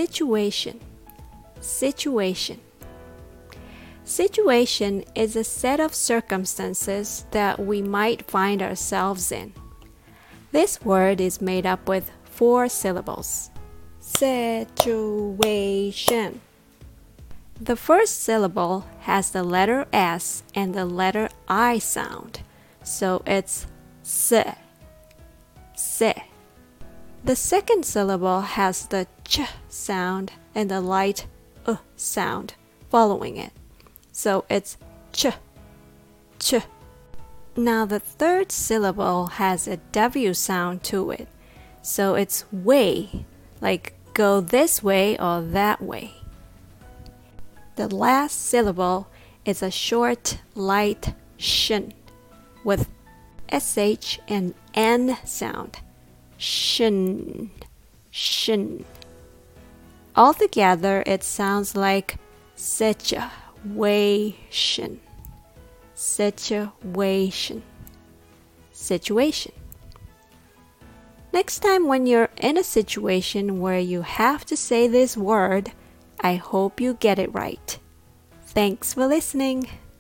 Situation. Situation. Situation is a set of circumstances that we might find ourselves in. This word is made up with 4 syllables. Situation. The first syllable has the letter S and the letter I sound, so it's se. Se. The second syllable has the ch sound and the light sound following it, so it's ch, ch. Now the third syllable has a W sound to it, so it's way, like go this way or that way. The last syllable is a short, light shin with sh and n sound. Shin, shin. Altogether, it sounds like situation. Situation. Situation. Next time when you're in a situation where you have to say this word, I hope you get it right. Thanks for listening.